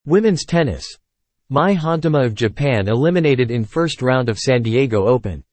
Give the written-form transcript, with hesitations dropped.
Women's tennis. Mai Honma of Japan eliminated in first round of San Diego Open.